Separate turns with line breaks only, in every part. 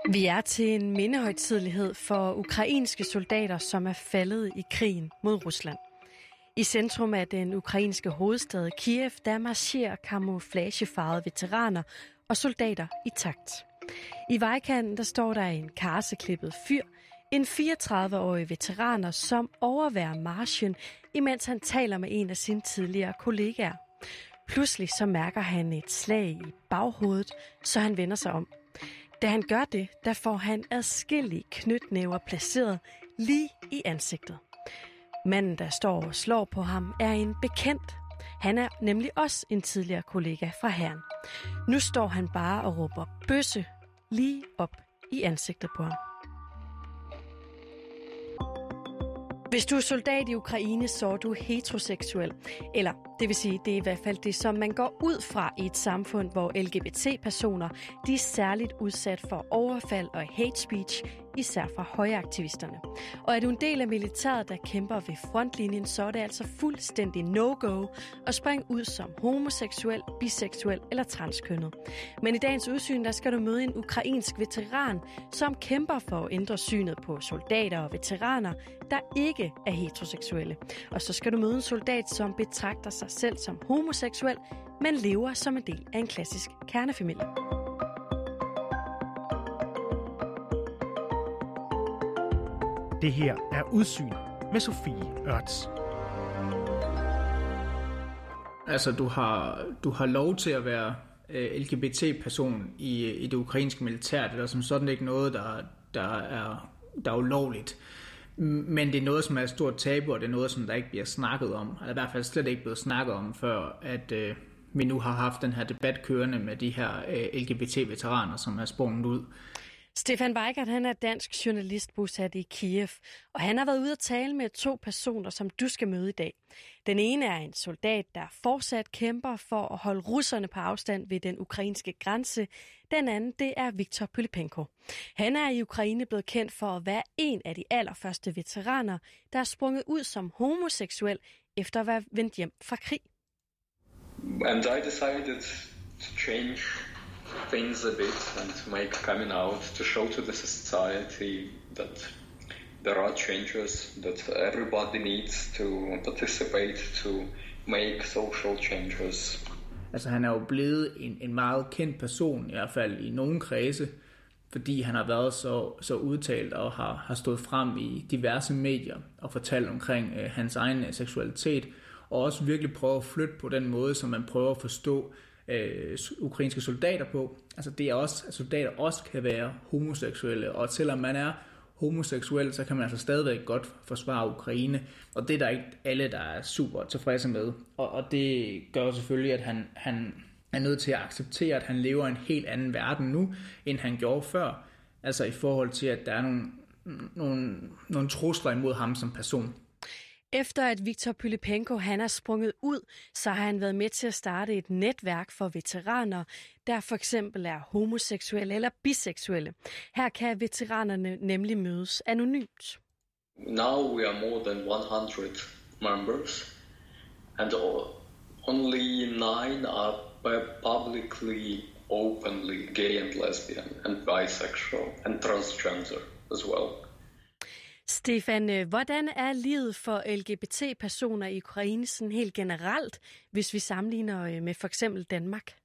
Vi er til en mindehøjtidelighed for ukrainske soldater, som er faldet i krigen mod Rusland. I centrum af den ukrainske hovedstad Kiev, der marcherer camouflagefarvede veteraner og soldater i takt. I vejkanten der står der en karseklippet fyr, en 34-årig veteraner, som overværer marchen, imens han taler med en af sine tidligere kollegaer. Pludselig så mærker han et slag i baghovedet, så han vender sig om. Da han gør det, der får han adskillige knytnæver placeret lige i ansigtet. Manden, der står og slår på ham, er en bekendt. Han er nemlig også en tidligere kollega fra hæren. Nu står han bare og råber bøsse lige op i ansigtet på ham. Hvis du er soldat i Ukraine, så er du heteroseksuel. Eller det vil sige, det er i hvert fald det, som man går ud fra i et samfund, hvor LGBT-personer de er særligt udsat for overfald og hate speech, især fra højreaktivisterne. Og er du en del af militæret, der kæmper ved frontlinjen, så er det altså fuldstændig no-go at springe ud som homoseksuel, biseksuel eller transkønnet. Men i dagens udsyn, der skal du møde en ukrainsk veteran, som kæmper for at ændre synet på soldater og veteraner, der ikke er heteroseksuelle. Og så skal du møde en soldat, som betragter sig selv som homoseksuel, men lever som en del af en klassisk kernefamilie.
Det her er Udsyn med Sofie Ørts.
Altså, du har lov til at være LGBT-person i det ukrainske militær. Det er som sådan ikke noget, der er ulovligt. Men det er noget, som er et stort tabu, og det er noget, som der ikke bliver snakket om. Eller i hvert fald slet ikke blevet snakket om, før at vi nu har haft den her debat kørende med de her LGBT-veteraner, som er sprunget ud.
Stefan Weigert, han er dansk journalist bosat i Kiev, og han har været ude at tale med 2 personer, som du skal møde i dag. Den ene er en soldat, der fortsat kæmper for at holde russerne på afstand ved den ukrainske grænse. Den anden, det er Viktor Pylypenko. Han er i Ukraine blevet kendt for at være en af de allerførste veteraner, der er sprunget ud som homoseksuel efter at være vendt hjem fra krig.
And I decided to change things a bit and make coming out to show to the society that there are changes, that everybody needs to participate to make social changes.
Altså han er jo blevet en meget kendt person, i hvert fald i nogle kredse, fordi han har været så udtalt og har stået frem i diverse medier og fortalt omkring hans egen seksualitet, og også virkelig prøve at flytte på den måde, som man prøver at forstå ukrainske soldater på. Altså det er også, at soldater også kan være homoseksuelle, og selvom man er homoseksuel, så kan man altså stadigvæk godt forsvare Ukraine, og det er der ikke alle, der er super tilfredse med. Og det gør selvfølgelig, at han er nødt til at acceptere, at han lever i en helt anden verden nu, end han gjorde før. Altså i forhold til, at der er nogle trusler imod ham som person.
Efter at Viktor Pylypenko han er sprunget ud, så har han været med til at starte et netværk for veteraner, der for eksempel er homoseksuelle eller biseksuelle. Her kan veteranerne nemlig mødes anonymt.
Now we are more than 100 members, and only 9 are publicly, openly gay and lesbian and bisexual and transgender as well.
Stefan, hvordan er livet for LGBT-personer i Ukraine sådan helt generelt, hvis vi sammenligner med for eksempel Danmark?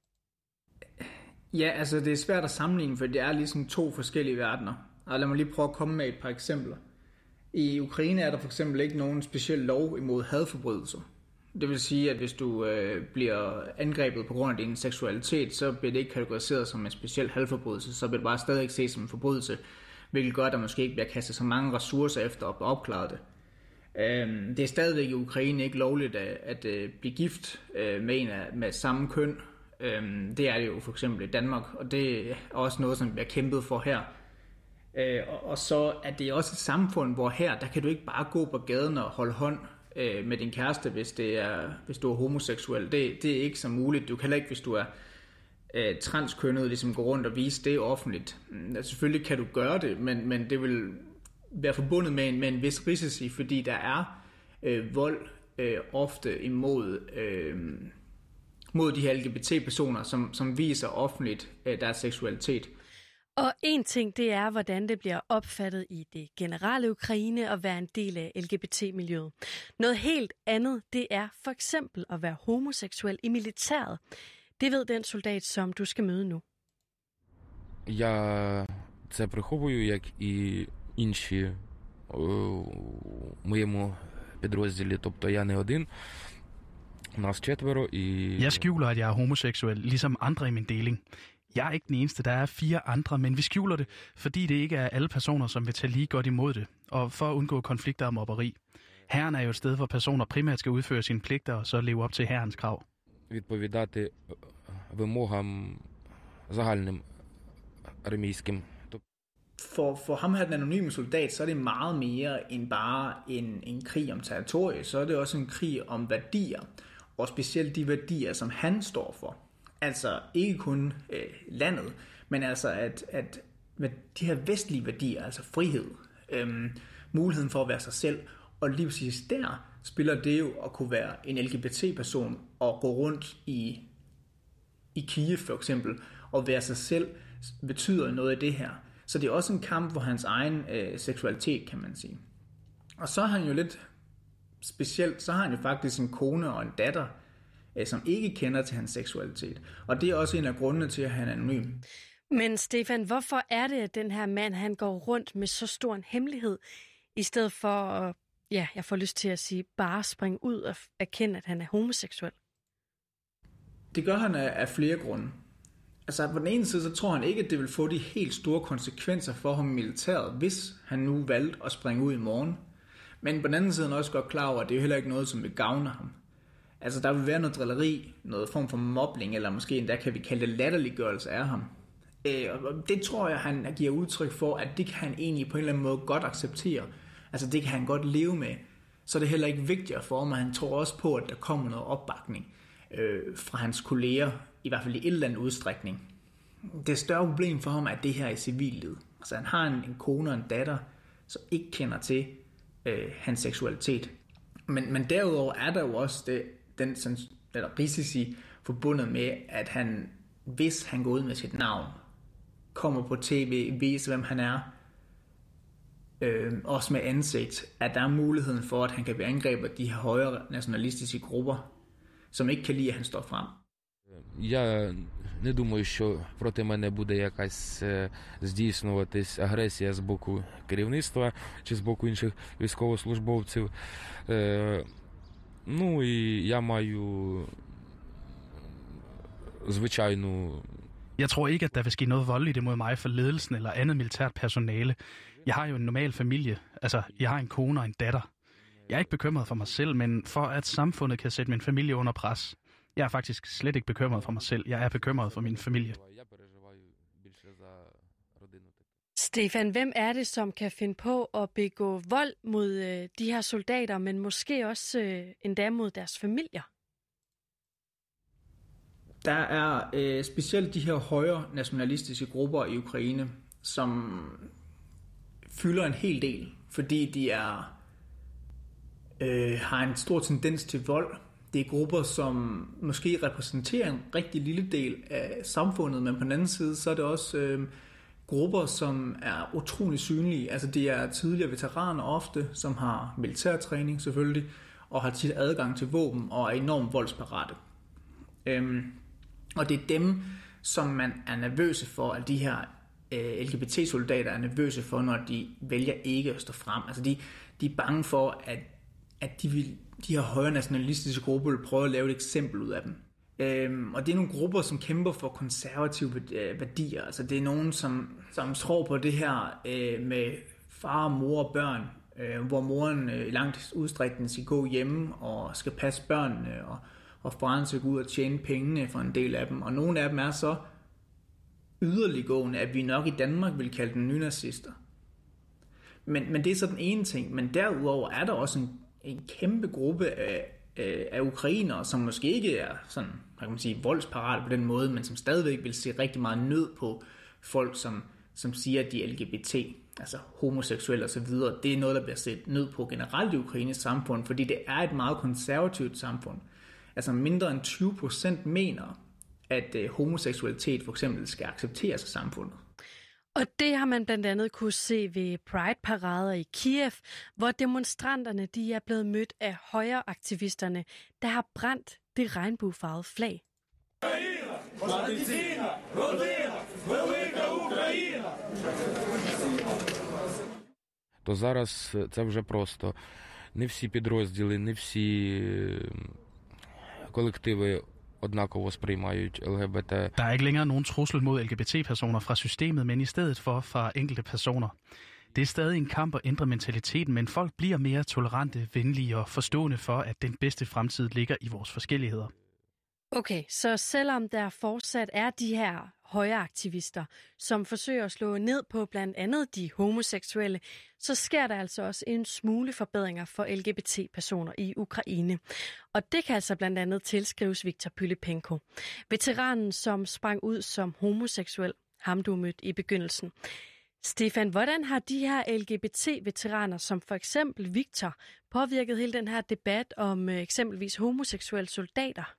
Ja, altså det er svært at sammenligne, for det er ligesom 2 forskellige verdener. Og lad mig lige prøve at komme med et par eksempler. I Ukraine er der for eksempel ikke nogen speciel lov imod hadforbrydelser. Det vil sige, at hvis du bliver angrebet på grund af din seksualitet, så bliver det ikke kategoriseret som en speciel hadforbrydelse, så bliver det bare stadig ikke set som en forbrydelse, hvilket gør, at der måske ikke bliver kastet så mange ressourcer efter at opklare det. Det er stadigvæk i Ukraine ikke lovligt at blive gift med en med samme køn. Det er det jo for eksempel i Danmark, og det er også noget, som bliver kæmpet for her. Og så er det også et samfund, hvor her, der kan du ikke bare gå på gaden og holde hånd med din kæreste, hvis du er homoseksuel. Det er ikke så muligt. Du kan heller ikke, hvis du er transkønnet, ligesom gå rundt og vise det offentligt. Selvfølgelig kan du gøre det, men det vil være forbundet med en vis risici, fordi der er vold ofte mod de her LGBT-personer, som viser offentligt deres seksualitet.
Og en ting, det er, hvordan det bliver opfattet i det generelle Ukraine at være en del af LGBT-miljøet. Noget helt andet, det er for eksempel at være homoseksuel i militæret. Det ved den soldat, som du skal møde nu.
Я це приховую, як і інші у моєму підрозділі. Тобто я не один, нас 4 і...
Jeg skjuler, at jeg er homoseksuel, ligesom andre i min deling. Jeg er ikke den eneste, der er 4 andre, men vi skjuler det, fordi det ikke er alle personer, som vil tage lige godt imod det, og for at undgå konflikter og mobberi. Hæren er jo et sted, hvor personer primært skal udføre sine pligter og så leve op til hærens krav.
Відповідати вимогам загальним армійським.
For ham her, den anonyme soldat, så er det meget mere end bare en krig om territoriet. Så er det også en krig om værdier, og specielt de værdier, som han står for. Altså ikke kun landet, men altså at de her vestlige værdier, altså frihed, muligheden for at være sig selv, og lige præcis der spiller det jo at kunne være en LGBT-person og gå rundt i Kiev for eksempel, og være sig selv, betyder noget af det her. Så det er også en kamp for hans egen seksualitet, kan man sige. Og så er han jo lidt specielt, så har han jo faktisk en kone og en datter, som ikke kender til hans seksualitet. Og det er også en af grundene til, at han er anonym.
Men Stefan, hvorfor er det, at den her mand, han går rundt med så stor en hemmelighed, i stedet for at, ja, jeg får lyst til at sige, bare springe ud og erkende, at han er homoseksuel?
Det gør han af flere grunde. Altså på den ene side, så tror han ikke, at det vil få de helt store konsekvenser for ham i militæret, hvis han nu valgte at springe ud i morgen. Men på den anden side er han også godt klar over, at det er jo heller ikke noget, som vil gavne ham. Altså der vil være noget drilleri, noget form for mobning, eller måske endda kan vi kalde det latterliggørelse af ham. Og det tror jeg, han giver udtryk for, at det kan han egentlig på en eller anden måde godt acceptere. Altså det kan han godt leve med. Så er det heller ikke vigtigere for ham, og han tror også på, at der kommer noget opbakning fra hans kolleger, i hvert fald i et eller andet udstrækning. Det større problem for ham er det her i civillivet. Altså han har en kone og en datter, som ikke kender til hans seksualitet. Men derudover er der jo også den risici forbundet med, at han, hvis han går ud med sit navn, kommer på tv, viser hvem han er, også med ansigt, at der er muligheden for, at han kan blive angrebet af de her højere nationalistiske grupper, som ikke kan lide, at han står frem.
Я не думаю, що проти мене буде якась здійснюватись агресія з боку керівництва чи з боку інших військовослужбовців. Ну і я маю звичайну...
Jeg tror ikke, at der vil ske noget voldeligt imod mig for ledelsen eller andet militært personale. Jeg har jo en normal familie. Altså, jeg har en kone og en datter. Jeg er ikke bekymret for mig selv, men for at samfundet kan sætte min familie under pres. Jeg er faktisk slet ikke bekymret for mig selv. Jeg er bekymret for min familie.
Stefan, hvem er det, som kan finde på at begå vold mod de her soldater, men måske også endda mod deres familier?
Der er specielt de her højre nationalistiske grupper i Ukraine, som fylder en hel del, fordi de har en stor tendens til vold. Det er grupper, som måske repræsenterer en rigtig lille del af samfundet, men på den anden side, så er det også grupper, som er utrolig synlige. Altså det er tidligere veteraner ofte, som har militærtræning selvfølgelig, og har tit adgang til våben og er enormt voldsparate. Og det er dem, som man er nervøse for, at de her LGBT-soldater er nervøse for, når de vælger ikke at stå frem. Altså de er bange for, at de her højre nationalistiske grupper vil prøve at lave et eksempel ud af dem. Og det er nogle grupper, som kæmper for konservative værdier. Altså det er nogen, som tror på det her med far, mor og børn, hvor moren i langt udstrækning skal gå hjemme og skal passe børnene, og faren skal gå ud og tjene pengene for en del af dem. Og nogle af dem er så yderliggående, at vi nok i Danmark vil kalde dem nynazister. Men det er så den ene ting. Men derudover er der også en kæmpe gruppe af ukrainere, som måske ikke er sådan, hvad kan man sige, voldsparate på den måde, men som stadigvæk vil se rigtig meget nød på folk, som siger, at de er LGBT, altså homoseksuelle osv. Det er noget, der bliver set nød på generelt i Ukraines samfund, fordi det er et meget konservativt samfund. Altså mindre end 20% mener, at homoseksualitet for eksempel skal accepteres af samfundet.
Og det har man blandt andet kunne se ved Pride-parader i Kiev, hvor demonstranterne de er blevet mødt af højreaktivisterne, der har brændt det regnbuefarvede flag.
То зараз це вже просто не всі підрозділи, не всі колективи однаково сприймають ЛГБТ.
Der er ikke længere nogen trussel mod LGBT-personer fra systemet, men i stedet for fra enkelte personer. Det er stadig en kamp at ændre mentaliteten, men folk bliver mere tolerante, venlige og forstående for, at den bedste fremtid ligger i vores forskelligheder.
Okay, så selvom der fortsat er de her højreaktivister, som forsøger at slå ned på blandt andet de homoseksuelle, så sker der altså også en smule forbedringer for LGBT-personer i Ukraine. Og det kan altså blandt andet tilskrives Viktor Pylypenko, veteranen, som sprang ud som homoseksuel, ham du mødte i begyndelsen. Stefan, hvordan har de her LGBT-veteraner, som for eksempel Viktor, påvirket hele den her debat om eksempelvis homoseksuelle soldater?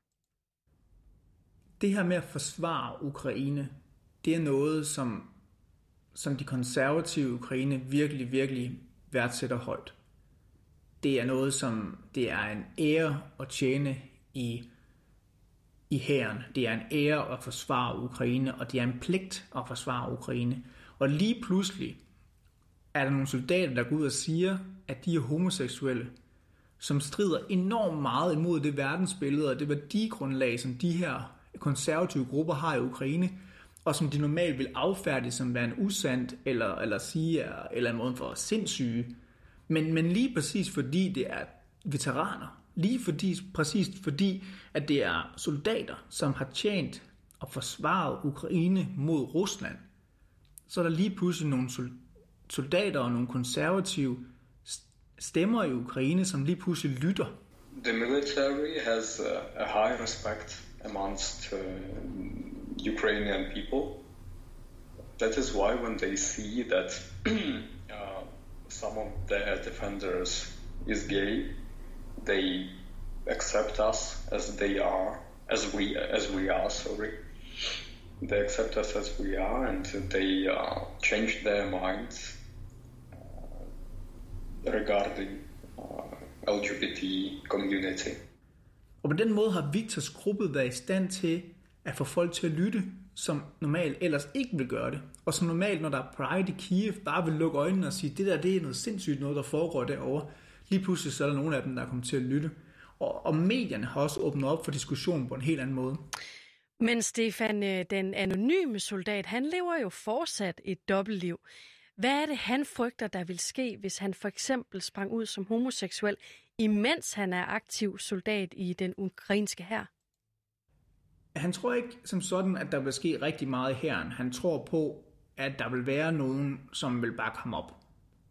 Det her med at forsvare Ukraine, det er noget, som de konservative i Ukraine virkelig, virkelig værdsætter højt. Det er noget, som det er en ære at tjene i hæren. Det er en ære at forsvare Ukraine, og det er en pligt at forsvare Ukraine. Og lige pludselig er der nogle soldater, der går ud og siger, at de er homoseksuelle, som strider enormt meget imod det verdensbillede og det værdigrundlag, som de her konservative grupper har i Ukraine, og som de normalt vil affærdige som værende usandt, eller sige, eller en måde for sindssyge. Men lige præcis fordi det er veteraner, præcis fordi, at det er soldater, som har tjent og forsvaret Ukraine mod Rusland, så er der lige pludselig nogle soldater og nogle konservative stemmer i Ukraine, som lige pludselig lytter.
The military has a high respect amongst Ukrainian people. That is why when they see that some of their defenders is gay, they accept us as they are, as we are. They accept us as we are, and they change their minds regarding LGBT community.
Og på den måde har Viktors gruppe været i stand til at få folk til at lytte, som normalt ellers ikke vil gøre det. Og som normalt, når der er Pride i Kiev, bare vil lukke øjnene og sige, det er noget sindssygt noget, der foregår derovre. Lige pludselig så er der nogle af dem, der er kommet til at lytte. Og medierne har også åbnet op for diskussionen på en helt anden måde.
Men Stefan, den anonyme soldat, han lever jo fortsat et dobbeltliv. Hvad er det, han frygter, der vil ske, hvis han for eksempel sprang ud som homoseksuel, imens han er aktiv soldat i den ukrainske hær?
Han tror ikke som sådan, at der vil ske rigtig meget i hæren. Han tror på, at der vil være nogen, som vil bakke ham op.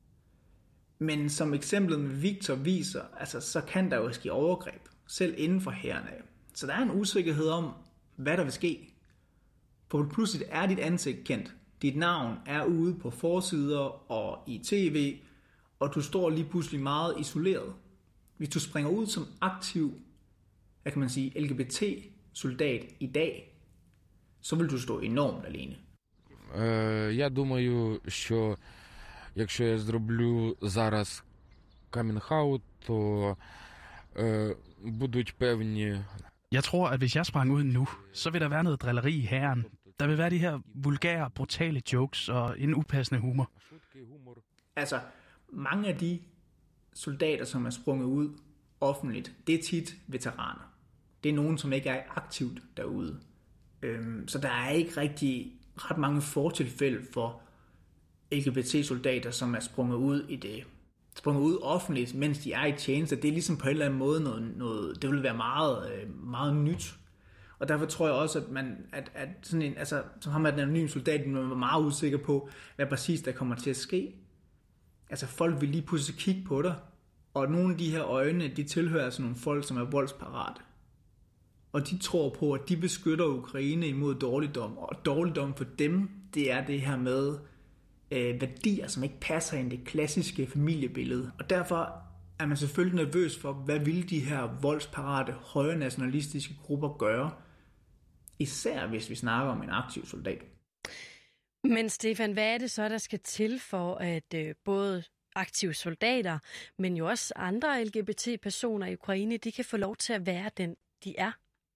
Men som eksemplet med Viktor viser, altså, så kan der jo ske overgreb, selv inden for hæren af. Så der er en usikkerhed om, hvad der vil ske. For pludselig er dit ansigt kendt. Dit navn er ude på forsider og i tv, og du står lige pludselig meget isoleret. Hvis du springer ud som aktiv, hvad kan man sige, LGBT-soldat i dag, så vil du stå enormt alene.
Я думаю, що якщо я зроблю зараз камінг-аут, то будуть певні...
Jeg tror, at hvis jeg sprang ud nu, så vil der være noget drilleri i hæren. Der vil være de her vulgære, brutale jokes og en upassende humor.
Altså, mange af de soldater, som er sprunget ud offentligt, det er tit veteraner. Det er nogen, som ikke er aktivt derude. Så der er ikke ret mange fortilfælde for LGBT-soldater, som er sprunget ud offentligt, mens de er i tjeneste. Det er ligesom på en eller anden måde noget det vil være meget, meget nyt. Og derfor tror jeg også, at sådan en, altså, som ham er den anonyme soldat, man var meget usikker på, hvad præcis der kommer til at ske. Altså folk vil lige pludselig kigge på dig, og nogle af de her øjne, de tilhører altså nogle folk, som er voldsparate. Og de tror på, at de beskytter Ukraine imod dårligdom, og dårligdom for dem, det er det her med værdier, som ikke passer ind i det klassiske familiebillede. Og derfor er man selvfølgelig nervøs for, hvad vil de her voldsparate, højre nationalistiske grupper gøre, især hvis vi snakker om en aktiv soldat.
Men Stefan, hvad er det så, der skal til for, at både aktive soldater, men jo også andre LGBT-personer i Ukraine, de kan få lov til at være den, de er?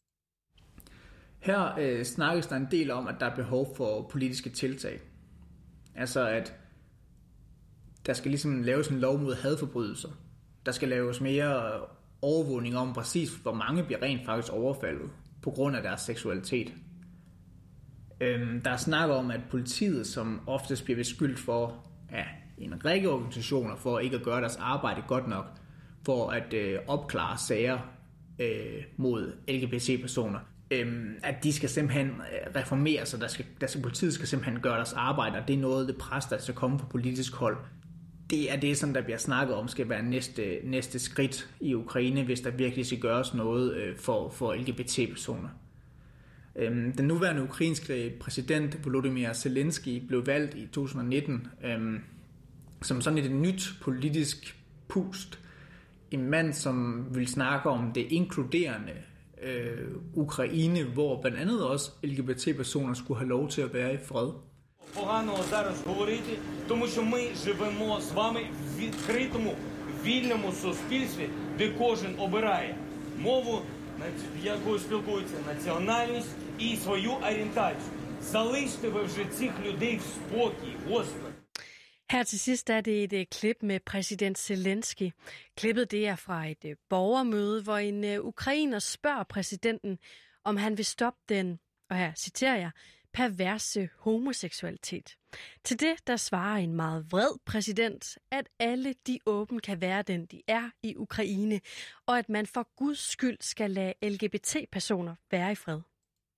Her snakkes der en del om, at der er behov for politiske tiltag. Altså at der skal ligesom laves en lov mod hadforbrydelser. Der skal laves mere overvågning om præcis, hvor mange bliver rent faktisk overfaldet på grund af deres seksualitet. Der er snak om, at politiet, som oftest bliver beskyldt for en række organisationer for ikke at gøre deres arbejde godt nok, for at opklare sager mod LGBT-personer, at de skal simpelthen reformere sig, politiet skal simpelthen gøre deres arbejde, og det er noget, det pres, der skal komme fra politisk hold. Det er det, som der bliver snakket om, skal være næste skridt i Ukraine, hvis der virkelig skal gøres noget for LGBT-personer. Den nuværende ukrainske præsident Volodymyr Zelensky blev valgt i 2019 som sådan et nyt politisk pust. En mand, som vil snakke om det inkluderende Ukraine, hvor blandt andet også LGBT-personer skulle have lov til at være i fred.
Поганого зараз говорити, тому що ми живемо з вами в відкритому, вільному суспільстві, де кожен обирає мову, якою спілкується, національність і свою орієнтацію. Залиште ви вже цих людей в спокій, Господи.
Her til sidst er det et klip med præsident Zelensky. Klippet det er fra et borgermøde, hvor en ukrainer spørger præsidenten, om han vil stoppe den, og her citerer jeg, perverse homoseksualitet. Til det, der svarer en meget vred præsident, at alle de åben kan være den, de er i Ukraine, og at man for Guds skyld skal lade LGBT-personer være i fred.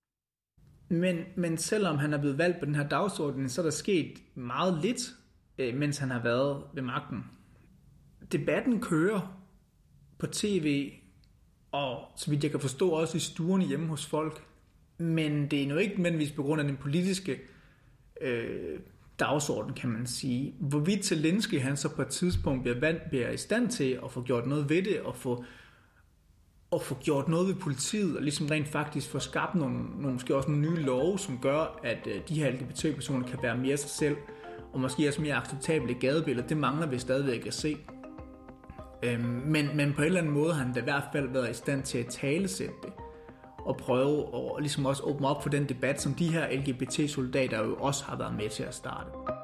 Men selvom han er blevet valgt på den her dagsorden, så er der sket meget lidt, mens han har været ved magten. Debatten kører på tv, og så vidt jeg kan forstå også i stuerne hjemme hos folk. Men det er nu ikke nødvendigvis på grund af den politiske dagsorden, kan man sige. Hvorvidt Zelensky han så på et tidspunkt bliver i stand til at få gjort noget ved det, og få gjort noget ved politiet, og ligesom rent faktisk få skabt nogle måske også nogle nye love, som gør, at de her LGBT-personer kan være mere sig selv, og måske også mere acceptable gadebilleder. Det mangler vi stadigvæk at se. Men på en eller anden måde har han da i hvert fald været i stand til at talesætte det, og prøve at ligesom også åbne op for den debat, som de her LGBT-soldater jo også har været med til at starte.